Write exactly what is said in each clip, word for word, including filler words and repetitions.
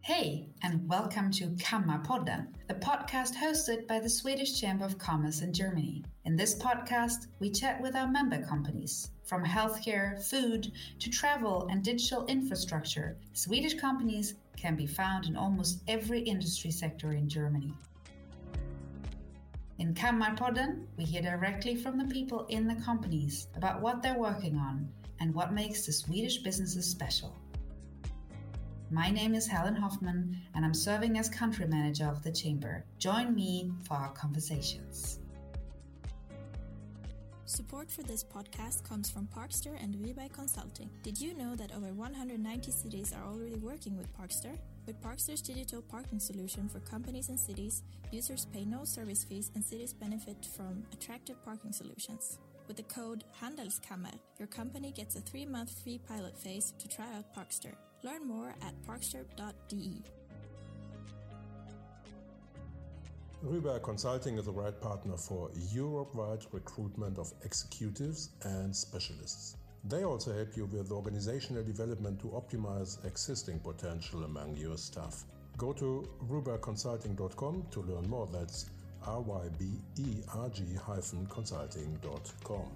Hey, and welcome to Kammarpodden, the podcast hosted by the Swedish Chamber of Commerce in Germany. In this podcast, we chat with our member companies. From healthcare, food, to travel and digital infrastructure, Swedish companies can be found in almost every industry sector in Germany. In Kammarpodden, we hear directly from the people in the companies about what they're working on and what makes the Swedish businesses special. My name is Helen Hoffman, and I'm serving as country manager of the Chamber. Join me for our conversations. Support for this podcast comes from Parkster and Rubberg Consulting. Did you know that over one hundred ninety cities are already working with Parkster? With Parkster's digital parking solution for companies and cities, users pay no service fees and cities benefit from attractive parking solutions. With the code Handelskammer, your company gets a three-month free pilot phase to try out Parkster. Learn more at parkster dot d e. Rubberg Consulting is the right partner for Europe-wide recruitment of executives and specialists. They also help you with organizational development to optimize existing potential among your staff. Go to rubberg consulting dot com to learn more. That's R Y B E R G consulting dot com.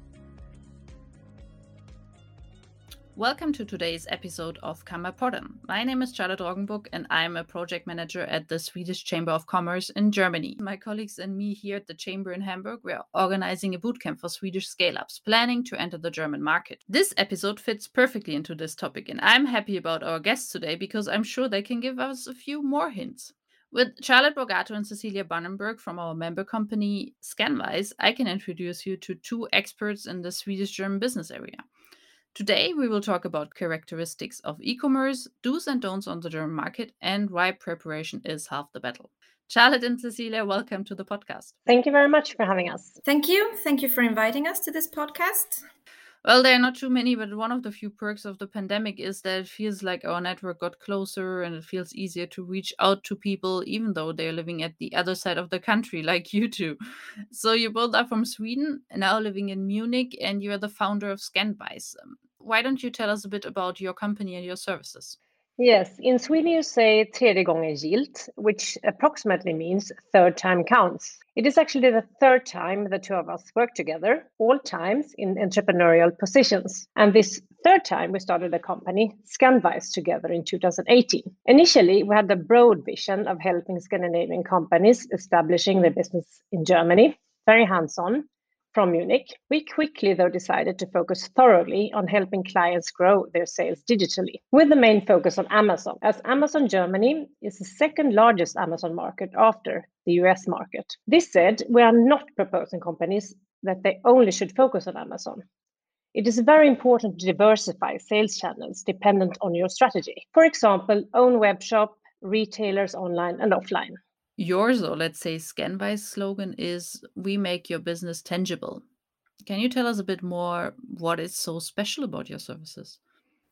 Welcome to today's episode of Kammarpodden. My name is Charlotte Roggenbuck and I'm a project manager at the Swedish Chamber of Commerce in Germany. My colleagues and me here at the Chamber in Hamburg, we are organizing a bootcamp for Swedish scale-ups, planning to enter the German market. This episode fits perfectly into this topic, and I'm happy about our guests today because I'm sure they can give us a few more hints. With Charlotte Borgato and Cecilia Bannenberg from our member company Scanwise, I can introduce you to two experts in the Swedish-German business area. Today, we will talk about characteristics of e-commerce, do's and don'ts on the German market, and why preparation is half the battle. Charlotte and Cecilia, welcome to the podcast. Thank you very much for having us. Thank you. Thank you for inviting us to this podcast. Well, there are not too many, but one of the few perks of the pandemic is that it feels like our network got closer and it feels easier to reach out to people, even though they're living at the other side of the country, like you two. So you both are from Sweden, now living in Munich, and you're the founder of Scanwise. Why don't you tell us a bit about your company and your services? Yes, in Sweden you say tredje gången gillt, which approximately means third time counts. It is actually the third time the two of us work together, all times in entrepreneurial positions. And this third time we started a company, Scanwise, together in two thousand eighteen. Initially, we had the broad vision of helping Scandinavian companies establishing their business in Germany, very hands-on. From Munich. We quickly, though, decided to focus thoroughly on helping clients grow their sales digitally, with the main focus on Amazon, as Amazon Germany is the second largest Amazon market after the U S market. This said, we are not proposing companies that they only should focus on Amazon. It is very important to diversify sales channels dependent on your strategy. For example, own web shop, retailers online and offline. Yours, or let's say Scanwise slogan is, we make your business tangible. Can you tell us a bit more what is so special about your services?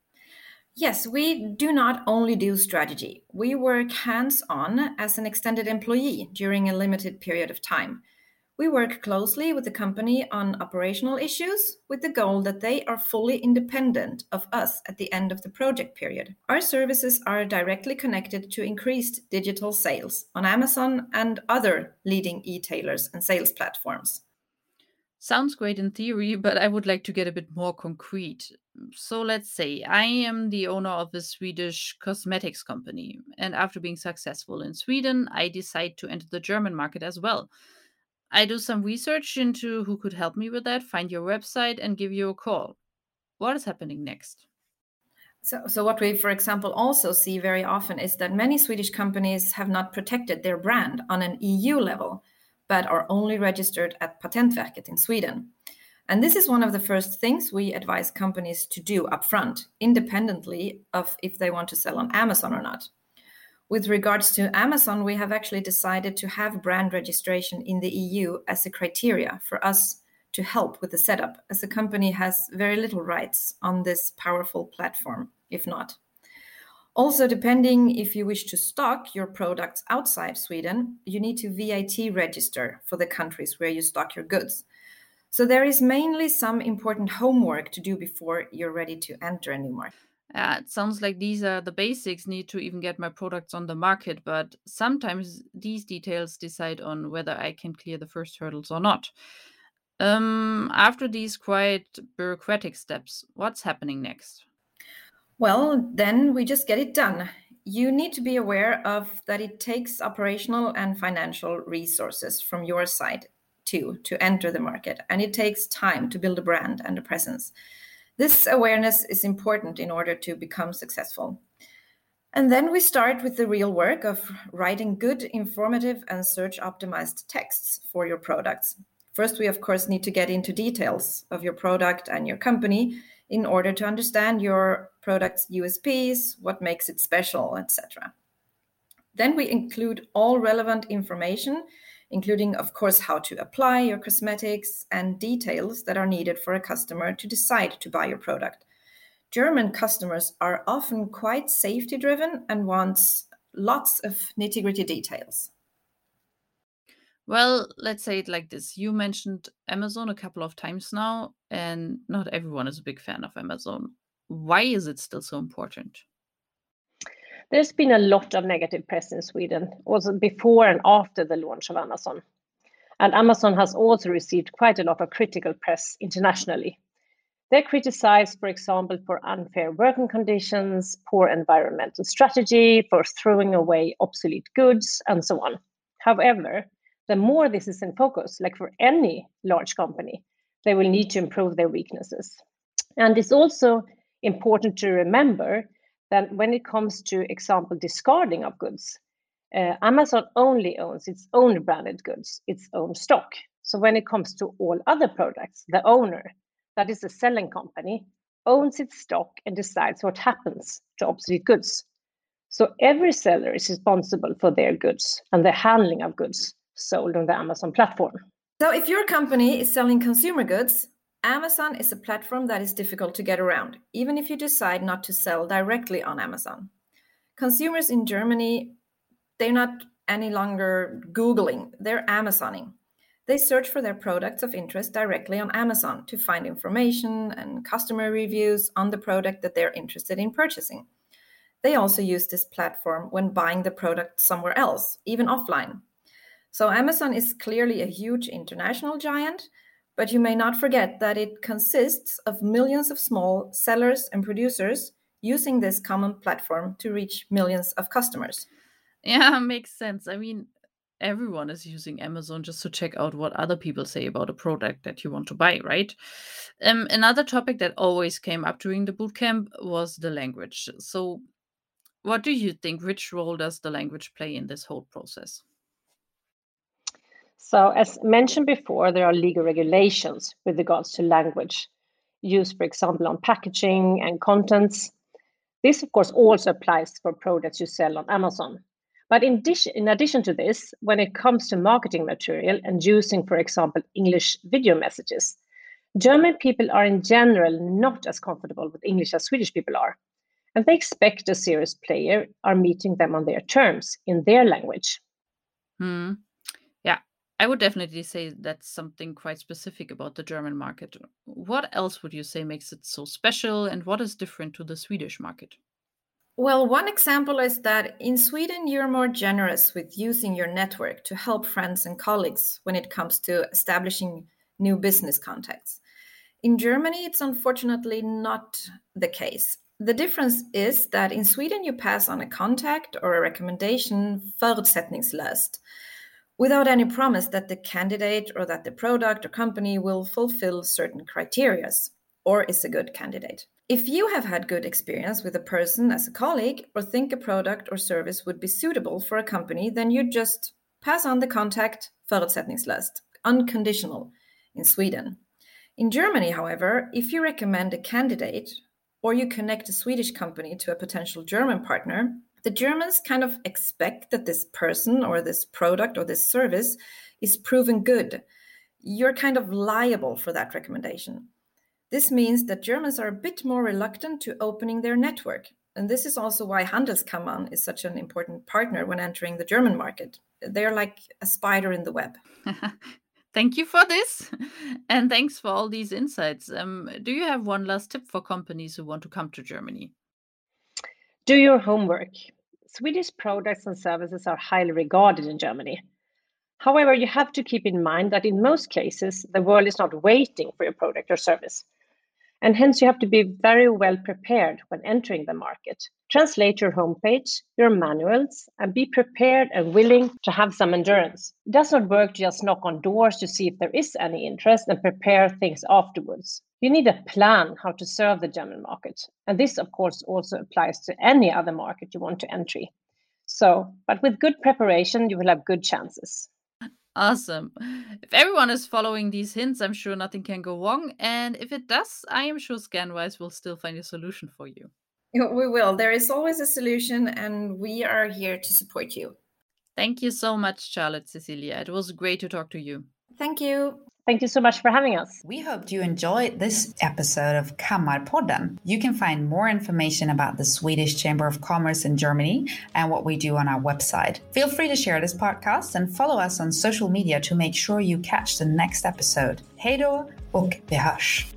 Yes, we do not only do strategy. We work hands-on as an extended employee during a limited period of time. We work closely with the company on operational issues with the goal that they are fully independent of us at the end of the project period. Our services are directly connected to increased digital sales on Amazon and other leading e-tailers and sales platforms. Sounds great in theory, but I would like to get a bit more concrete. So let's say I am the owner of a Swedish cosmetics company, and after being successful in Sweden, I decide to enter the German market as well. I do some research into who could help me with that, find your website, and give you a call. What is happening next? So, so what we, for example, also see very often is that many Swedish companies have not protected their brand on an E U level, but are only registered at Patentverket in Sweden. And this is one of the first things we advise companies to do upfront, independently of if they want to sell on Amazon or not. With regards to Amazon, we have actually decided to have brand registration in the E U as a criteria for us to help with the setup, as the company has very little rights on this powerful platform, if not. Also, depending if you wish to stock your products outside Sweden, you need to V A T register for the countries where you stock your goods. So there is mainly some important homework to do before you're ready to enter a new market. Uh, it sounds like these are the basics need to even get my products on the market, but sometimes these details decide on whether I can clear the first hurdles or not. Um, after these quite bureaucratic steps, what's happening next? Well, then we just get it done. You need to be aware of that it takes operational and financial resources from your side too to enter the market, and it takes time to build a brand and a presence. This awareness is important in order to become successful. And then we start with the real work of writing good, informative, and search optimized texts for your products. First, we of course need to get into details of your product and your company in order to understand your product's U S Ps, what makes it special, et cetera. Then we include all relevant information, including, of course, how to apply your cosmetics and details that are needed for a customer to decide to buy your product. German customers are often quite safety driven and want lots of nitty gritty details. Well, let's say it like this. You mentioned Amazon a couple of times now, and not everyone is a big fan of Amazon. Why is it still so important? There's been a lot of negative press in Sweden, also before and after the launch of Amazon. And Amazon has also received quite a lot of critical press internationally. They're criticized, for example, for unfair working conditions, poor environmental strategy, for throwing away obsolete goods, and so on. However, the more this is in focus, like for any large company, they will need to improve their weaknesses. And it's also important to remember that when it comes to, example, discarding of goods, uh, Amazon only owns its own branded goods, its own stock. So when it comes to all other products, the owner, that is the selling company, owns its stock and decides what happens to obsolete goods. So every seller is responsible for their goods and the handling of goods sold on the Amazon platform. So if your company is selling consumer goods, Amazon is a platform that is difficult to get around, even if you decide not to sell directly on Amazon. Consumers in Germany, they're not any longer Googling, they're Amazoning. They search for their products of interest directly on Amazon to find information and customer reviews on the product that they're interested in purchasing. They also use this platform when buying the product somewhere else, even offline. So Amazon is clearly a huge international giant, but you may not forget that it consists of millions of small sellers and producers using this common platform to reach millions of customers. Yeah, makes sense. I mean, everyone is using Amazon just to check out what other people say about a product that you want to buy, right? Um, another topic that always came up during the bootcamp was the language. So, what do you think? Which role does the language play in this whole process? So, as mentioned before, there are legal regulations with regards to language used, for example, on packaging and contents. This, of course, also applies for products you sell on Amazon. But in, addition, in addition to this, when it comes to marketing material and using, for example, English video messages, German people are in general not as comfortable with English as Swedish people are. And they expect a serious player are meeting them on their terms in their language. Hmm. Yeah, I would definitely say that's something quite specific about the German market. What else would you say makes it so special, and what is different to the Swedish market? Well, one example is that in Sweden, you're more generous with using your network to help friends and colleagues when it comes to establishing new business contacts. In Germany, it's unfortunately not the case. The difference is that in Sweden, you pass on a contact or a recommendation förutsättningslöst, without any promise that the candidate or that the product or company will fulfill certain criteria or is a good candidate. If you have had good experience with a person as a colleague or think a product or service would be suitable for a company, then you just pass on the contact förutsättningslöst, unconditional in Sweden. In Germany, however, if you recommend a candidate or you connect a Swedish company to a potential German partner, the Germans kind of expect that this person or this product or this service is proven good. You're kind of liable for that recommendation. This means that Germans are a bit more reluctant to opening their network. And this is also why Handelskammern is such an important partner when entering the German market. They're like a spider in the web. Thank you for this. And thanks for all these insights. Um, do you have one last tip for companies who want to come to Germany? Do your homework. Swedish products and services are highly regarded in Germany. However, you have to keep in mind that in most cases, the world is not waiting for your product or service. And hence, you have to be very well prepared when entering the market. Translate your homepage, your manuals, and be prepared and willing to have some endurance. It does not work to just knock on doors to see if there is any interest and prepare things afterwards. You need a plan how to serve the German market. And this, of course, also applies to any other market you want to enter. So, but with good preparation, you will have good chances. Awesome. If everyone is following these hints, I'm sure nothing can go wrong. And if it does, I am sure Scanwise will still find a solution for you. We will. There is always a solution, and we are here to support you. Thank you so much, Charlotte Cecilia. It was great to talk to you. Thank you. Thank you so much for having us. We hope you enjoyed this episode of Kammarpodden. You can find more information about the Swedish Chamber of Commerce in Germany and what we do on our website. Feel free to share this podcast and follow us on social media to make sure you catch the next episode. Hej då och vi hörs!